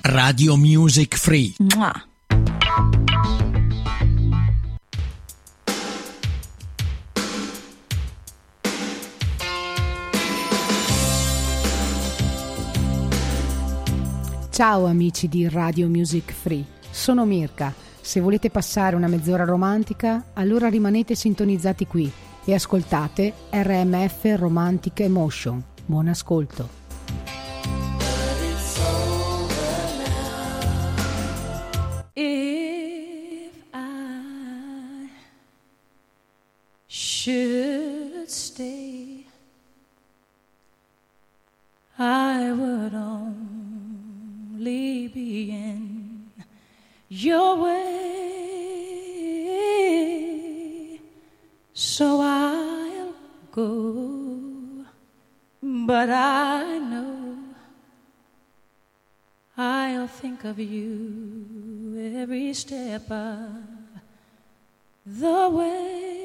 Radio Music Free. Mua. Ciao amici di Radio Music Free, sono Mirka. Se volete passare una mezz'ora romantica, allora rimanete sintonizzati qui e ascoltate RMF Romantic Emotion. Buon ascolto. If I should stay, I would only be in your way, so I'll go, but I know I'll think of you every step of the way.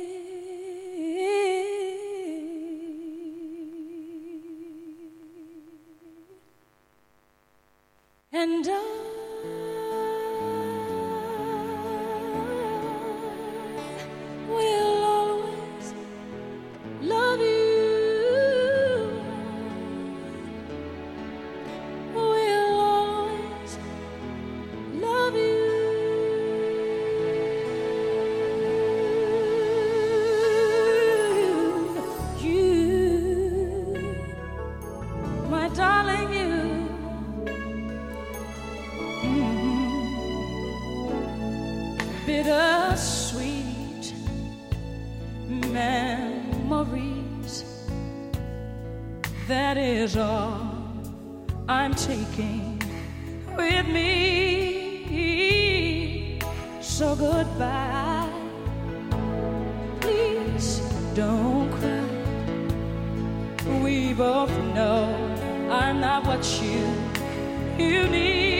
And I will always love you. Will always love you. You, my darling, you. Bittersweet memories, that is all I'm taking with me. So goodbye, please don't cry. We both know I'm not what you need.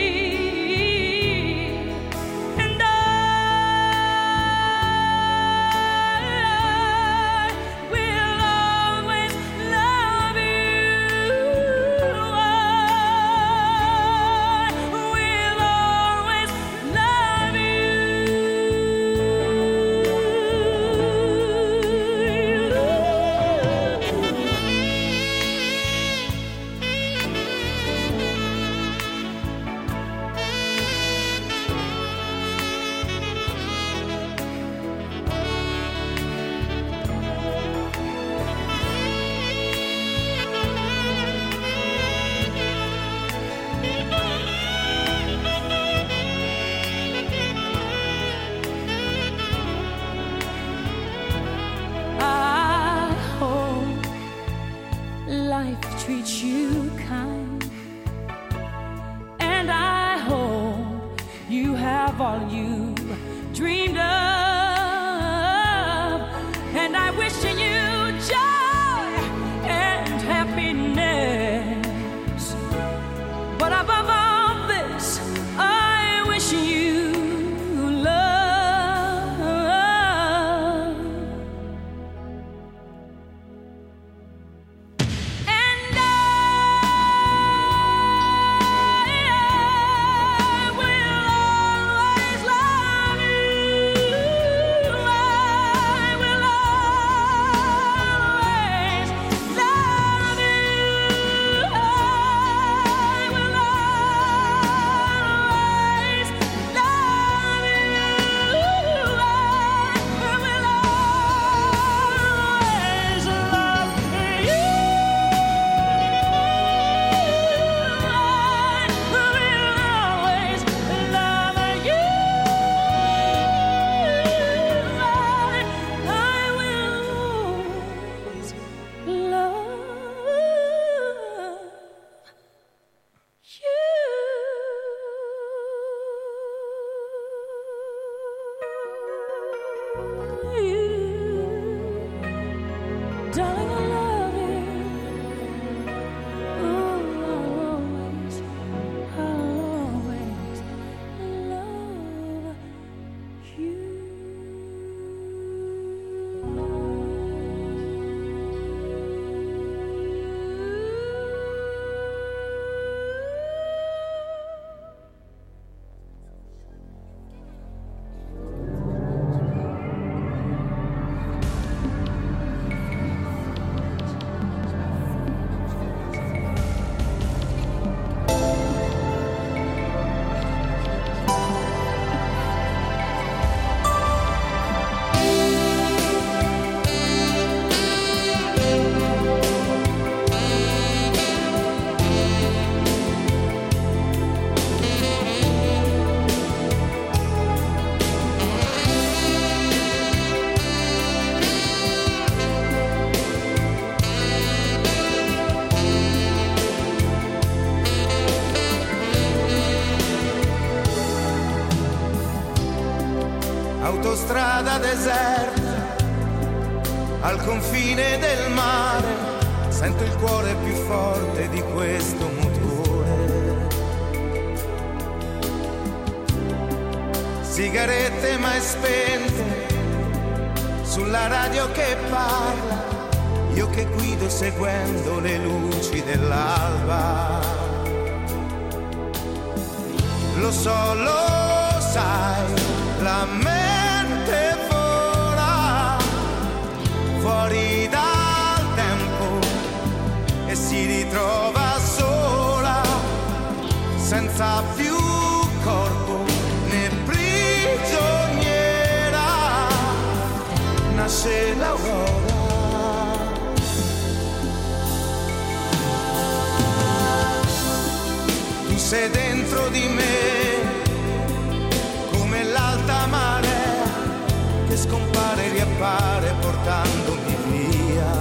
Treat you kind, and I hope you have all you dreamed of, and I wish you joy and happiness, but above all this I wish you love. autostrada deserta, al confine del mare, sento il cuore più forte di questo motore. Sigarette mai spente, sulla radio che parla, io che guido seguendo le luci dell'alba. Lo so, lo sai, la mente vola fuori dal tempo e si ritrova sola, senza più corpo né prigioniera. Nasce l'aurora. Tu sei dentro di me come l'alta marea che scompare e riappare portandomi via.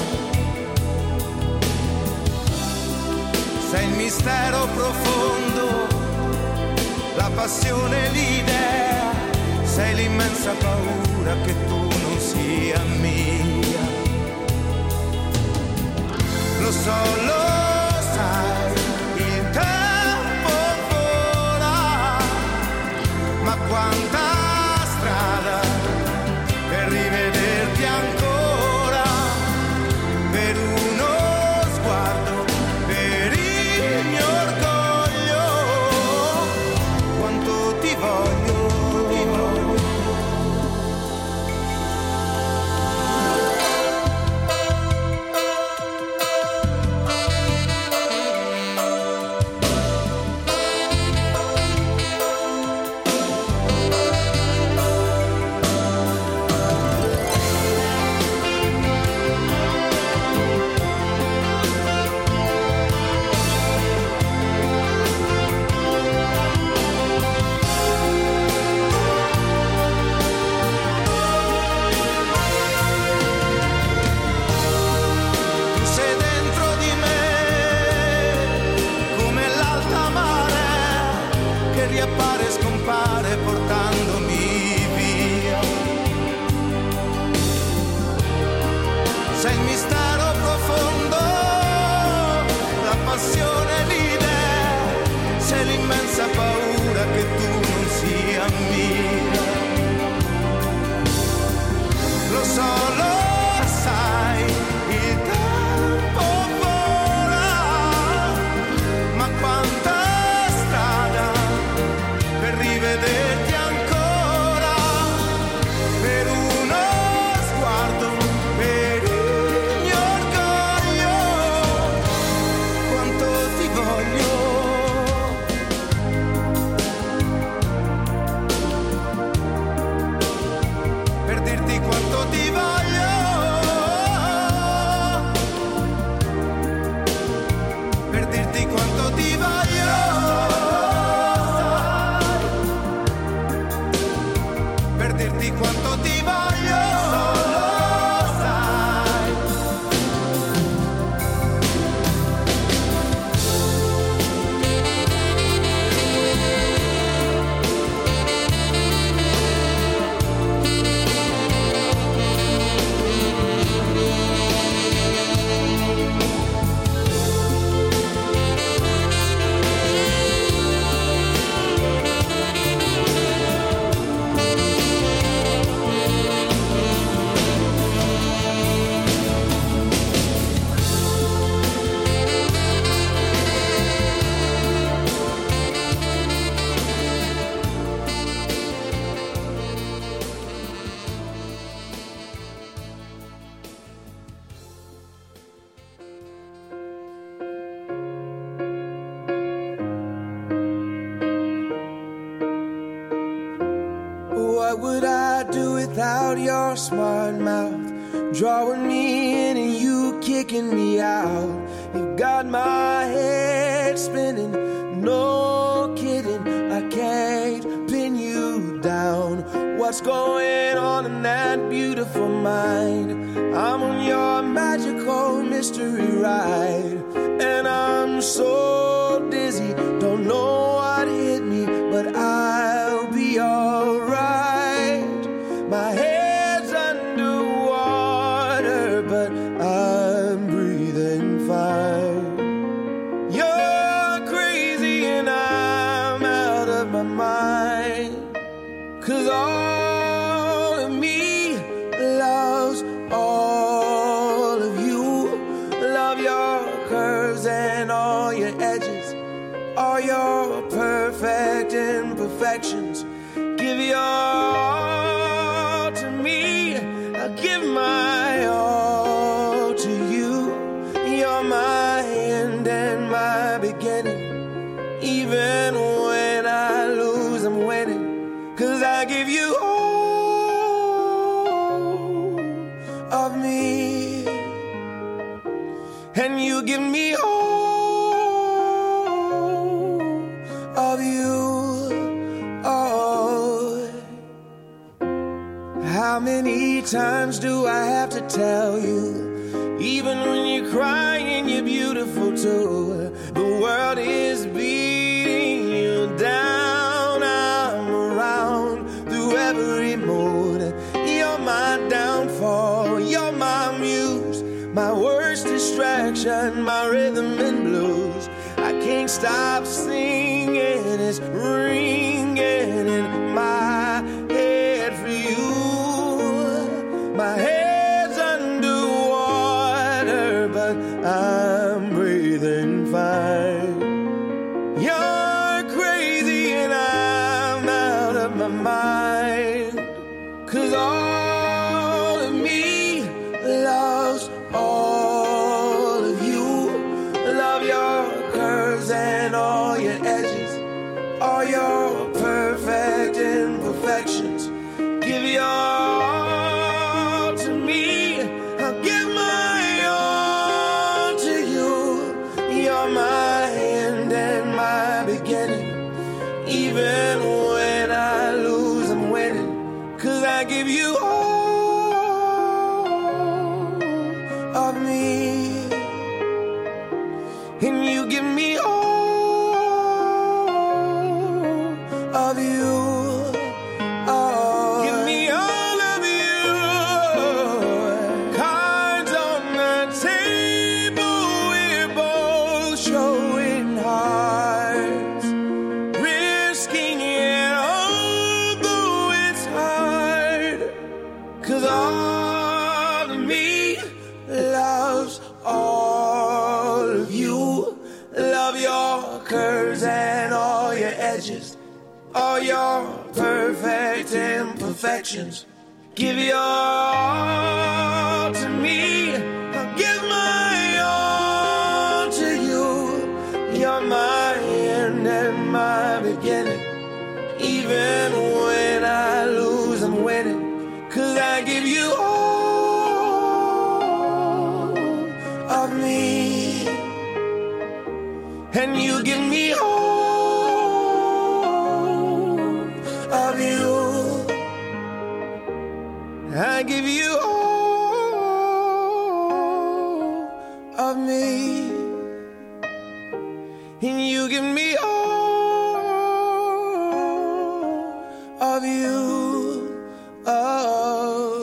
Sei il mistero profondo, la passione, l'idea, sei l'immensa paura che tu non sia mia. Lo so, lo sai, il tempo vola, ma quanta strada per rivederti ancora, per uno sguardo, per il mio orgoglio, quanto ti voglio, ti voglio. Riappare e scompare portandomi via. Sei il mistero profondo, la passione, l'idea, sei l'immensa paura che tu non sia mia. Lo so, lo sai, il tempo vola, ma quanta rivederti ancora, per uno sguardo, per il mio orgoglio, quanto ti voglio. Per dirti quanto ti voglio, per dirti quanto ti voglio. Dirti quanto ti voglio, lo sai. What would I do without your smart mouth, drawing me in and you kicking me out? You got my head spinning, no kidding, I can't pin you down. What's going on in that beautiful mind? I'm on your magical mystery ride, and I'm so dizzy, don't know what hit me, but I'll be alright. your perfect imperfections. Give your all to me, I'll give my all to you. You're my end and my beginning. Even when I lose, I'm winning. 'Cause I give you all of me, and you give me all of you. Oh, how many times do I have to tell you? Even when you're crying, you're beautiful too. The world is beating you down. I'm around through every mood. You're my downfall, you're my muse, my worst distraction, my rhythm and blues. I can't stop singing, it's ringing in my head for you. My head's underwater, but I'm breathing fine. You're crazy and I'm out of my mind. 'Cause all of me loves all of you. Love your curves and all your edges, all your perfect imperfections. Give your all to me, I'll give my all to you. You're my end and my beginning. Even when I lose, I'm winning. 'Cause I give you all of me, and you give me all of you. Oh, give me all of you. Cards on the table, we're both showing hearts, risking it although it's hard. 'Cause all of me loves all of you. Love your curves and all your edges, all your perfect imperfections. Give your all to me, I'll give my all to you. You're my end and my beginning. Even when I lose, I'm winning. 'Cause I give you all of me, and you give me all of you. I give you all of me, and you give me all of you. Oh.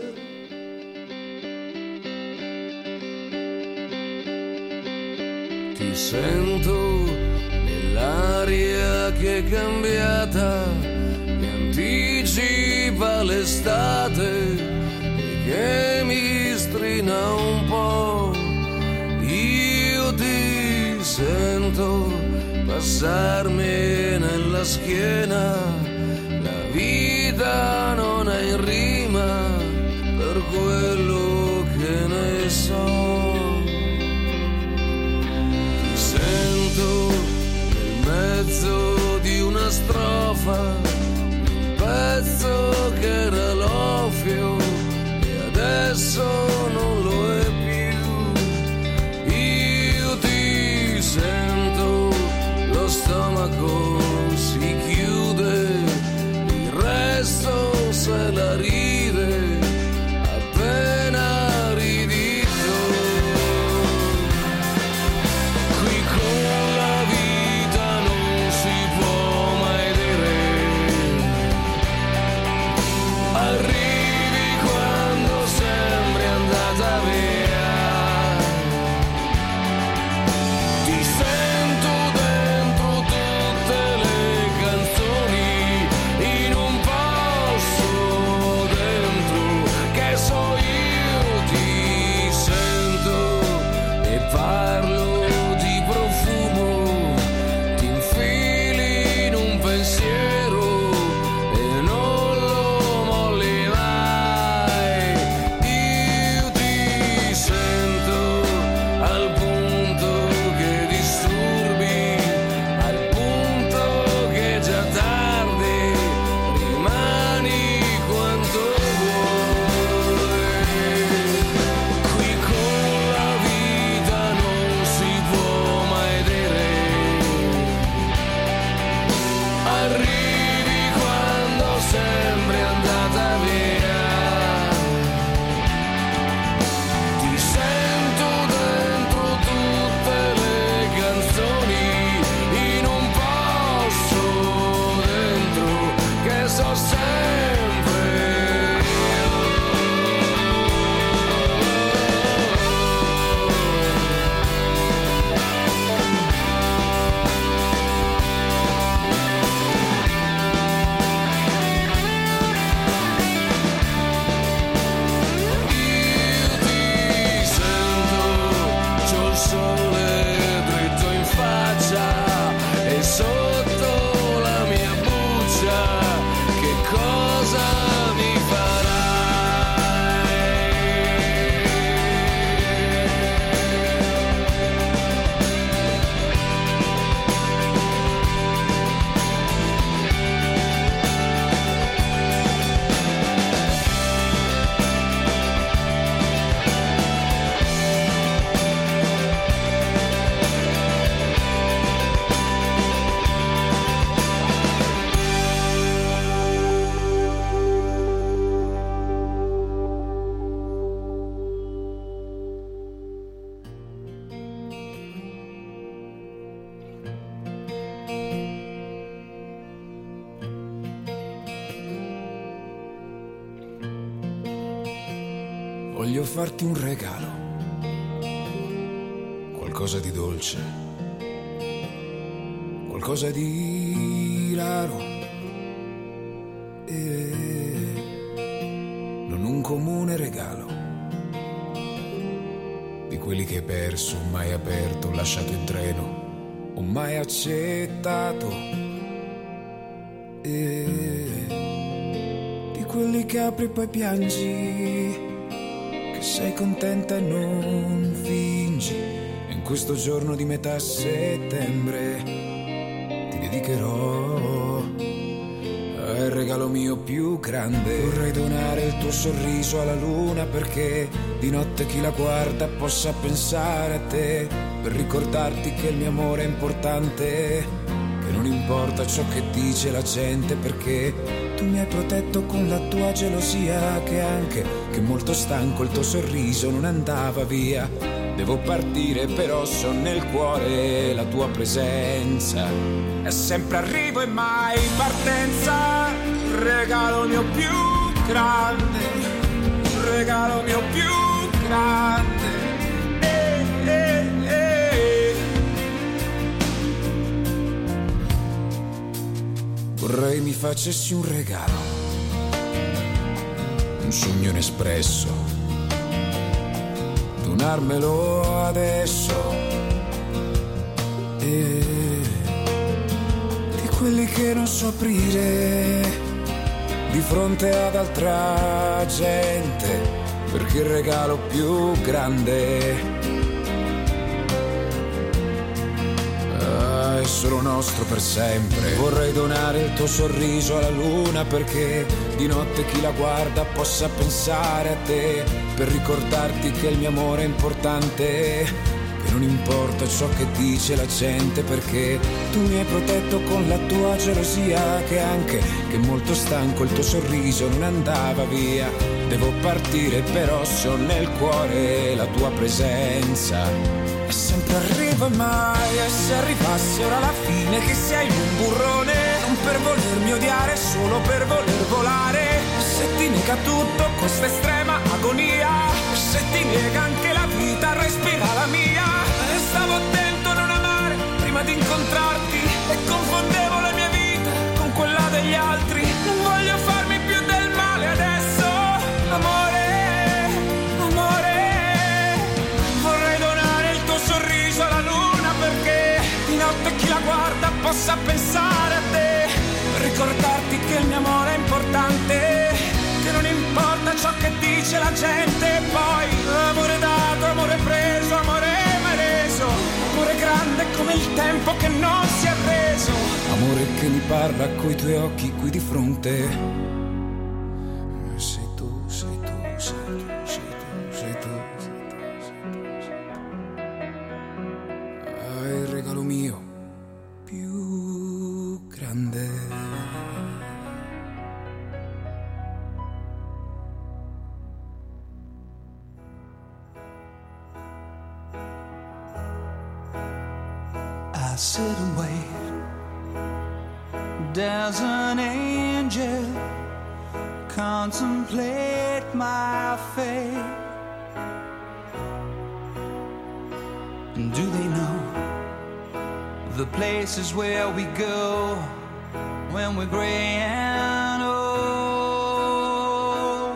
Ti sento nell'aria che è cambiata, che anticipa l'estate e che mi strina un po'. Io ti sento passarmi nella schiena, la vita non è in rima per quello che ne so. Nel mezzo di una strofa, un pezzo che era l'ovvio e adesso non lo è più. Io ti sento, lo stomaco si chiude, il resto se la ride appena ridito. Arrivi quando sembri arrivi quando sembri andata via. Ti sento dentro tutte le canzoni, in un posto dentro che so sempre io. Io ti sento, c'ho il sole dritto in faccia e sotto la mia buccia che cosa mi farai? Voglio farti un regalo, qualcosa di dolce, qualcosa di raro, e non un comune regalo, di quelli che hai perso, mai aperto, lasciato in treno, o mai accettato, e di quelli che apri e poi piangi, sei contenta e non fingi. E in questo giorno di metà settembre ti dedicherò al regalo mio più grande. Vorrei donare il tuo sorriso alla luna, perché di notte chi la guarda possa pensare a te, per ricordarti che il mio amore è importante, che non importa ciò che dice la gente, perché tu mi hai protetto con la tua gelosia, che anche che molto stanco il tuo sorriso non andava via. Devo partire però so nel cuore la tua presenza, è sempre arrivo e mai partenza. Regalo mio più grande, regalo mio più grande. Vorrei mi facessi un regalo, un sogno inespresso, donarmelo adesso, e di quelli che non so aprire di fronte ad altra gente, perché il regalo più grande è solo nostro per sempre. Vorrei donare il tuo sorriso alla luna, perché di notte chi la guarda possa pensare a te, per ricordarti che il mio amore è importante, che non importa ciò che dice la gente, perché tu mi hai protetto con la tua gelosia, che anche che molto stanco il tuo sorriso non andava via. Devo partire però so nel cuore la tua presenza, e sempre arrivo e mai, e se arrivasse ora la fine, che sei un burrone, non per volermi odiare, solo per voler volare. Se ti nega tutto questa estrema agonia, se ti nega anche la vita, respira la mia. E stavo attento a non amare prima di incontrarti, e confondevo la mia vita con quella degli altri. Non voglio farmi più del male adesso, amore, amore. Vorrei donare il tuo sorriso alla luna, perché di notte chi la guarda possa pensare a te, per ricordarti che il mio amore è importante, che non importa ciò che dice la gente. Poi amore dato, amore preso, amore mai reso, amore grande come il tempo che non si è reso, amore che mi parla coi tuoi occhi qui di fronte. Sei tu, sei tu, sei tu, sei tu, sei tu, sei tu, sei tu. Il regalo mio più grande. sit and wait. Does an angel contemplate my fate? And do they know the places where we go when we're gray and old?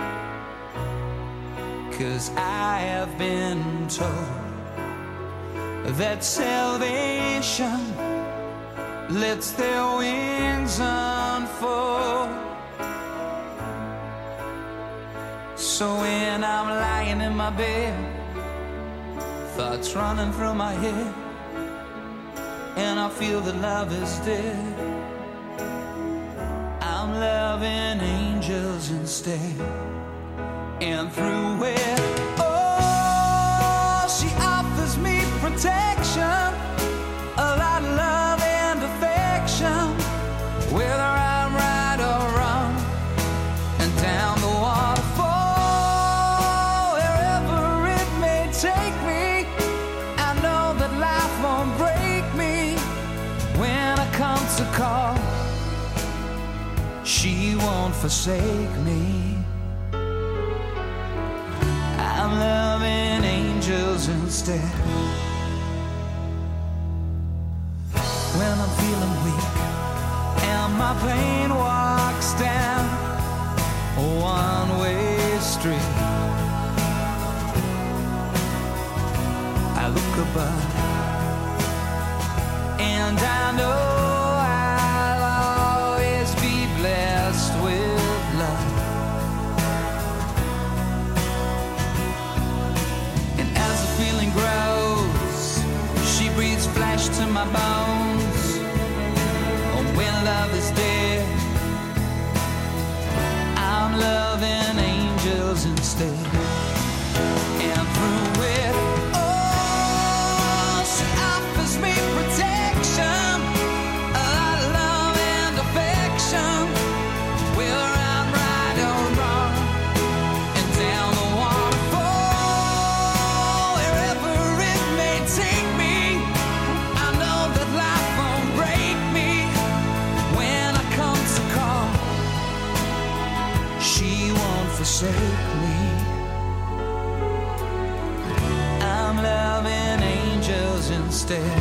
'Cause I have been told that salvation lets their wings unfold. So when I'm lying in my bed, thoughts running through my head, and I feel that love is dead, I'm loving angels instead. And through it, oh, she offers me protection, a lot of love and affection, whether I'm right or wrong, and down the waterfall, wherever it may take me, I know that life won't break me. When I come to call, she won't forsake me. I'm loving angels instead. When I'm feeling weak and my pain walks down a one-way street, I look above and I know I'll always be blessed with love. And as the feeling grows, she breathes flesh to my bones. Oh, when love is dead, I'm loving angels instead. And through it, oh, she offers me protection, a lot of love and affection, whether I'm right or wrong, and down the waterfall, wherever it may take me, I know that life won't break me. When I come to call, she won't forsake me. I'm loving angels instead.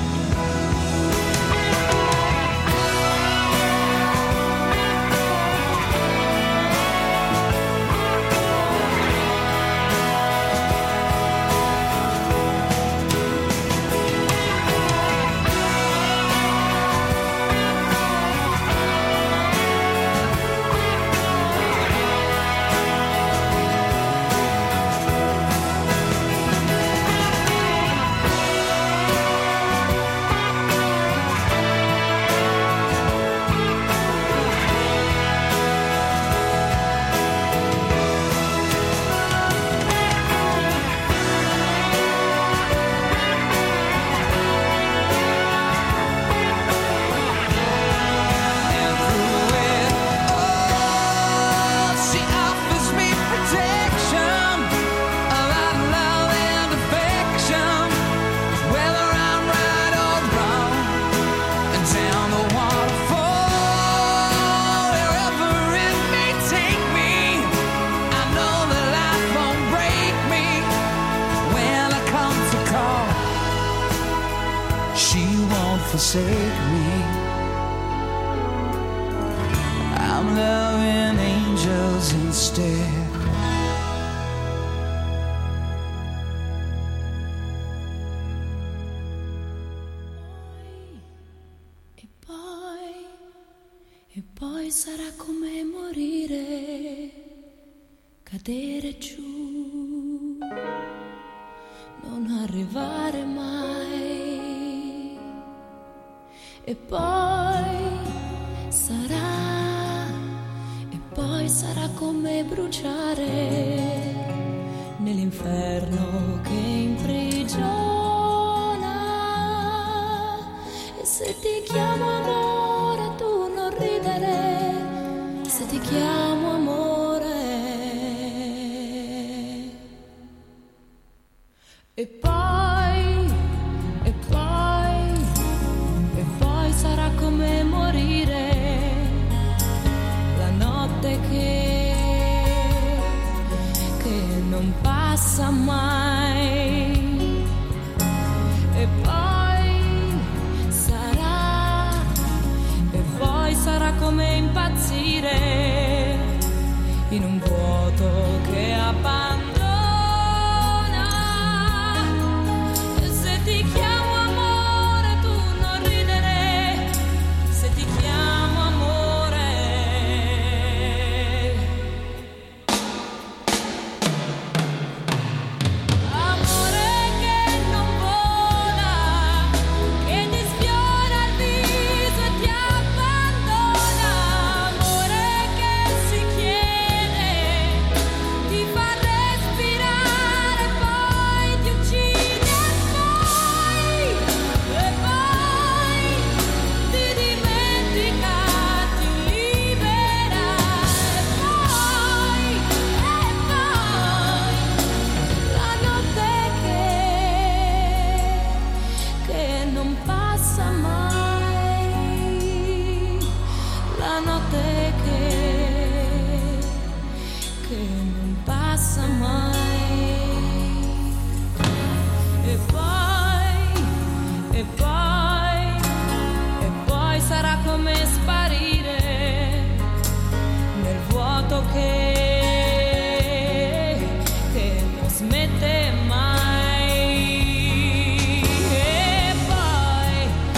Forsake me. I'm loving angels instead. E poi sarà come morire, cadere giù, non arrivare mai. E poi sarà come bruciare nell'inferno che imprigiona. E se ti chiamo amore tu non ridere, se ti chiamo amore. E poi come impazzire in un vuoto che abbandona. E se ti chiamo amore tu non ridere, se ti chiamo amore. Amore che non vola, che ti sfiora il viso e ti abbandona. Amore che si chiede, ti fa respirare, poi ti uccide e poi ti dimentica, ti libera e poi la notte che non passa mai, la notte che non passa mai. E poi sarà come sparire nel vuoto che non smette mai. E poi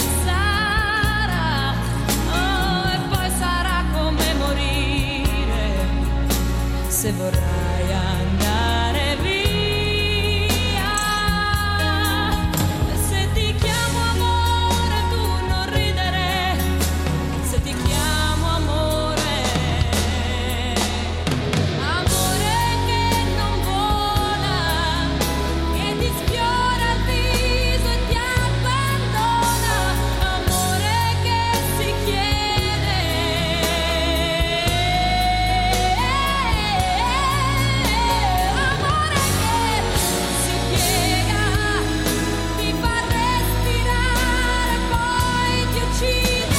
sarà come morire se vorrai andare via. Se ti chiamo amore tu non ridere, se ti chiamo amore. Amore che non vola, che ti sfiora il viso e ti abbandona. Amore che si chiede, amore che si piega, ti fa respirare, poi ti uccide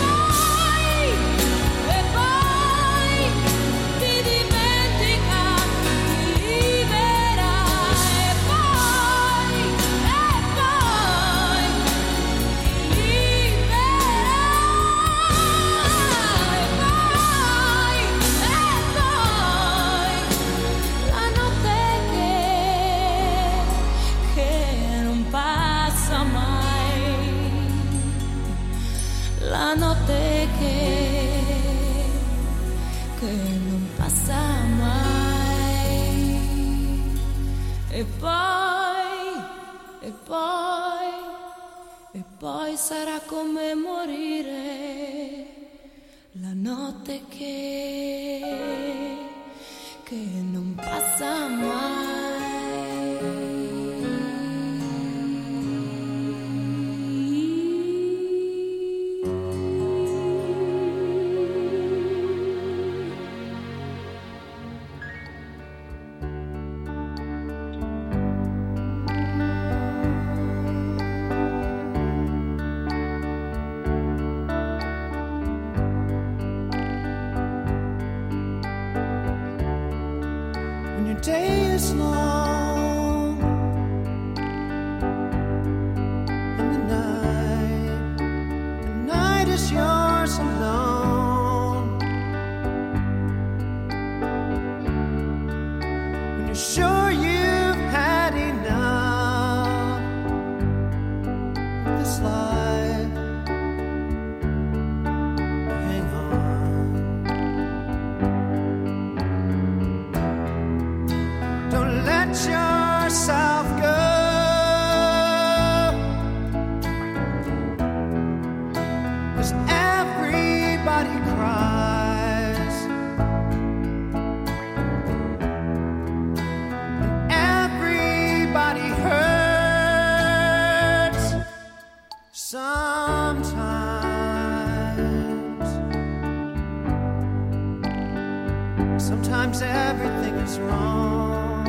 e poi ti dimentica, ti libera e poi ti libera la notte che non passa mai, la notte che non passa mai. E poi sarà come morire la notte che non passa mai. When your day is long and the night is yours alone. When you're sure you've had enough of this life, hang on. Don't let yourself go. 'Cause everybody cries and everybody hurts sometimes. Sometimes everything is wrong.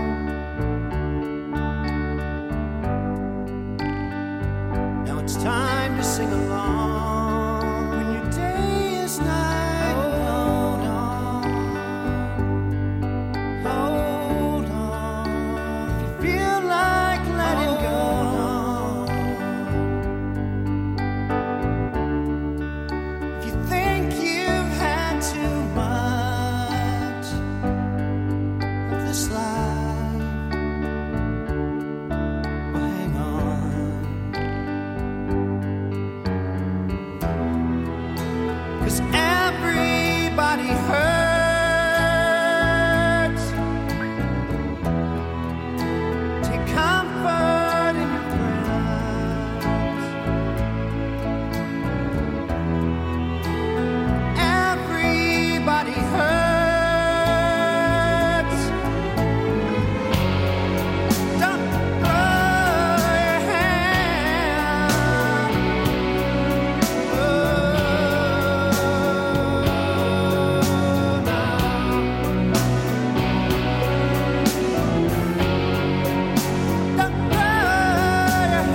Now it's time to sing along. When your day is night, hold on, hold on. If you feel like letting go, if you think you've 'cause everybody hurts. Take comfort in your friends. Everybody hurts. Don't throw your hand. Oh, no. Don't throw your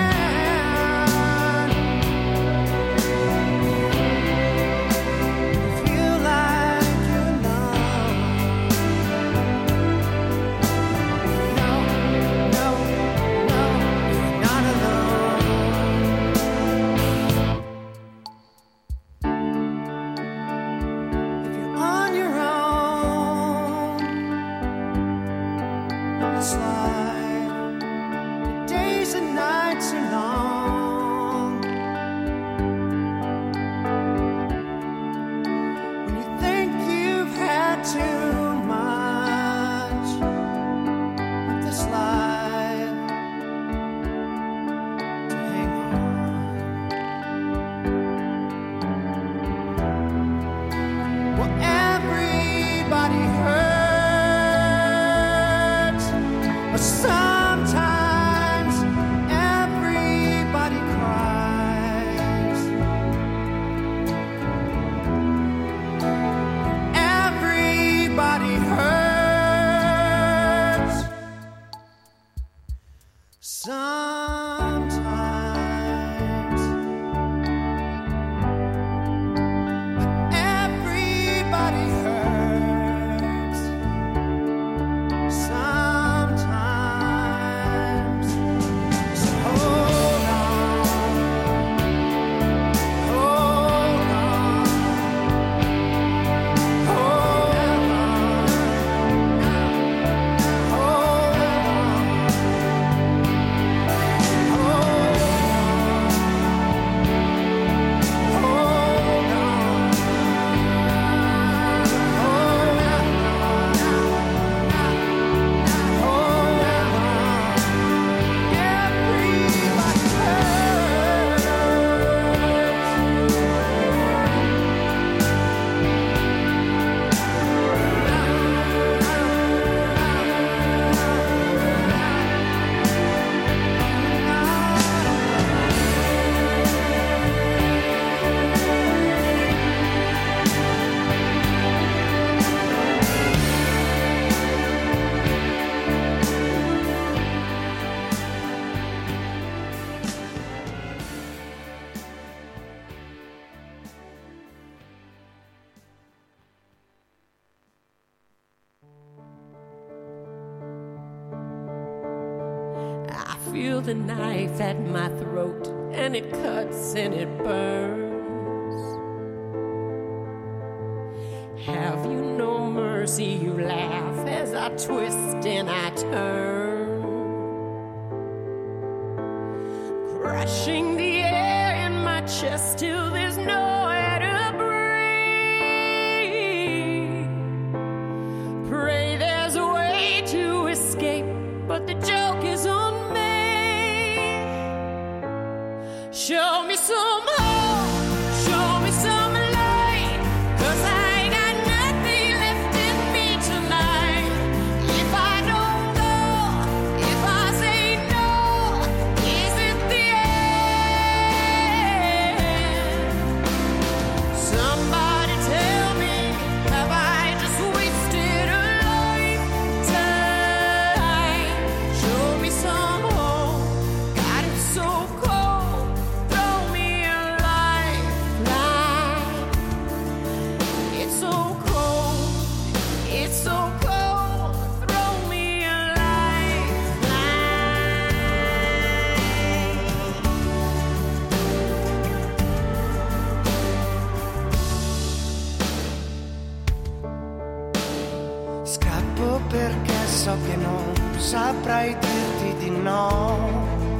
hand. Feel like you're alone. No, no, no, you're not alone. If you're on your own on this life, the days and nights are long. When you think you've had too much of this life to hang on. Well, everybody hurts, but sometimes everybody cries. Everybody hurts sometimes, but everybody hurts sometimes. So hold on, hold on, hold on, hold I feel the knife at my throat, and it cuts and it burns. Have you no mercy? You laugh as I twist and I turn, crushing the air in my chest till there's nowhere to breathe. Pray there's a way to escape, but the joke is on me. Show me some hope, show me some light, 'cause I ain't got nothing left in me tonight. If I don't go, if I say no, is it the end? Somebody tell me, have I just wasted a lifetime? Show me some hope, God, it's so cold. Throw me a lifeline. It's so cold, it's so cold. Throw me a lifeline. Scappo perché so che non saprai dirti di no.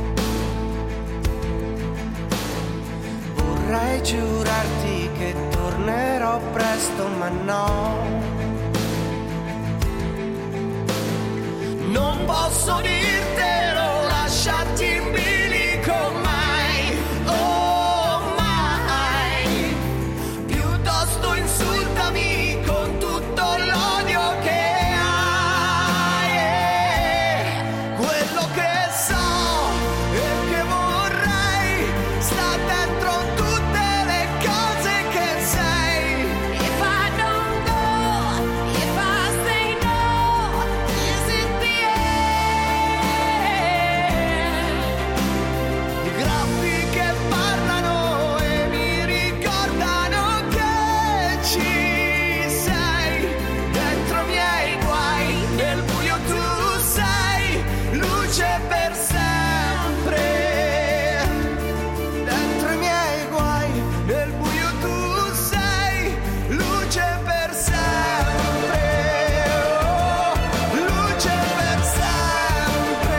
Vorrei giurarti che tornerai dirò presto, ma no. Non posso dirtelo, lasciarti in bilico mai, oh mai. Piuttosto insultami con tutto l'odio che hai. Quello che so e che vorrei sta dentro tutte le cose che sei. If I don't go, if I say no, is it the end? Graffi che parlano e mi ricordano che ci sei. Dentro i miei guai, nel buio tu sei luce per sempre. Dentro i miei guai, nel buio tu sei luce per sempre. Oh, luce per sempre.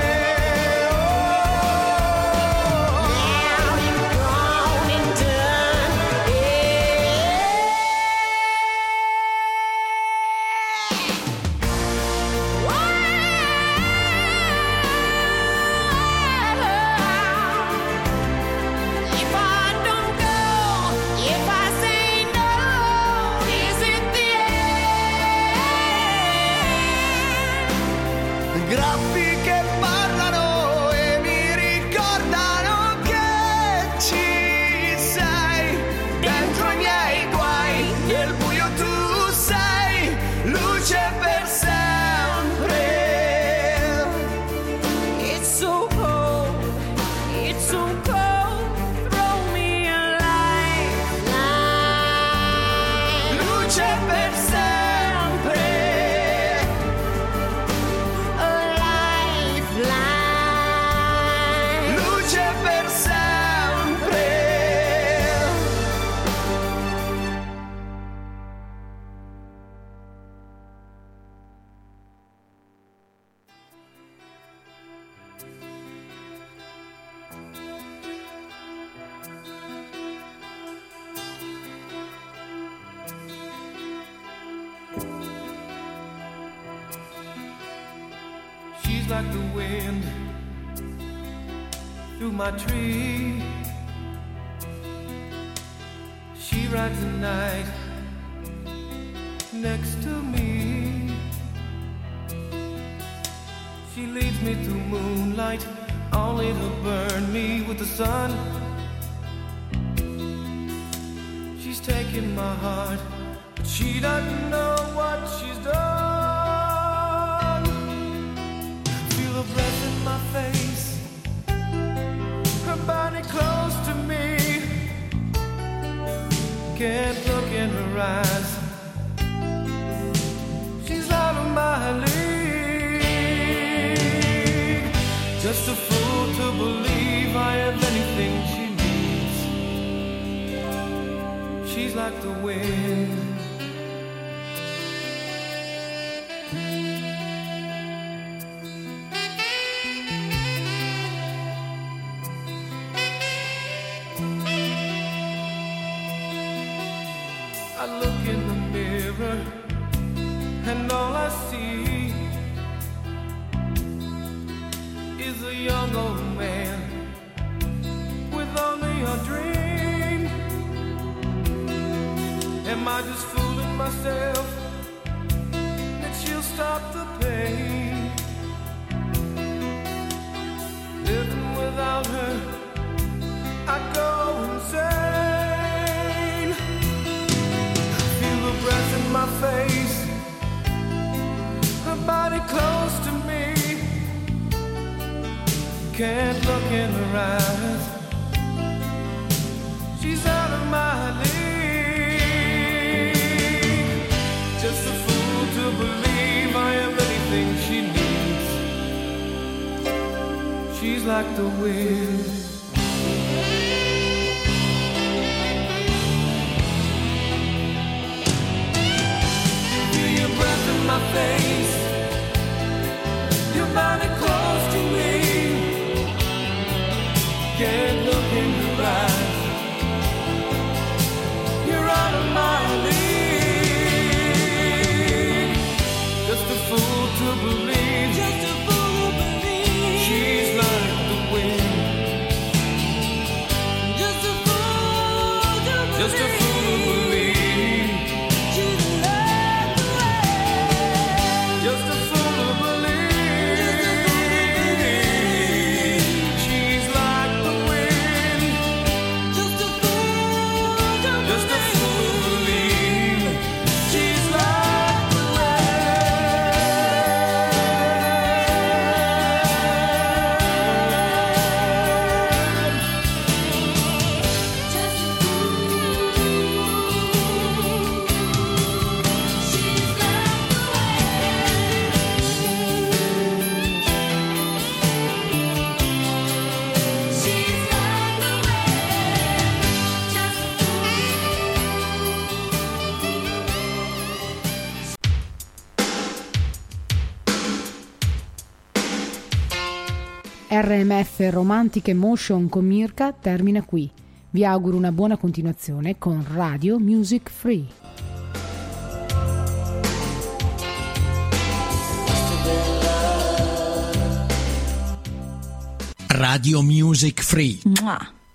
Now you're gone and done. If I don't go, if I say no, is it the end? Graffi che parlano e mi ricordano che ci sei. Dentro i miei guai, nel buio tu sei luce per sempre. It's so cold, it's so cold. Throw me a lifeline. Luce per sempre. A lifeline. Luce per sempre. She's like the wind through my tree. She rides the night next to me. She leads me through moonlight, only to burn me with the sun. She's taken my heart, but she doesn't know what she's done. Feel her breath in my face, her body close to me. Can't look in her eyes, she's out of my league. Just a fool to believe I have anything she needs. She's like the wind. I look in the mirror and all I see is a young old man with only a dream. Am I just fooling myself that she'll stop the pain? Living without her, I go insane. Feel the breath in my face, her body close to me. Can't look in her eyes, she's out of my league. Just a fool to believe I am anything she needs. She's like the wind. Feel your breath in my face, your body close to me. Can't look in your eyes, you're out of my league. RMF Romantic Emotion con Mirka termina qui. Vi auguro una buona continuazione con Radio Music Free. Radio Music Free. Mua.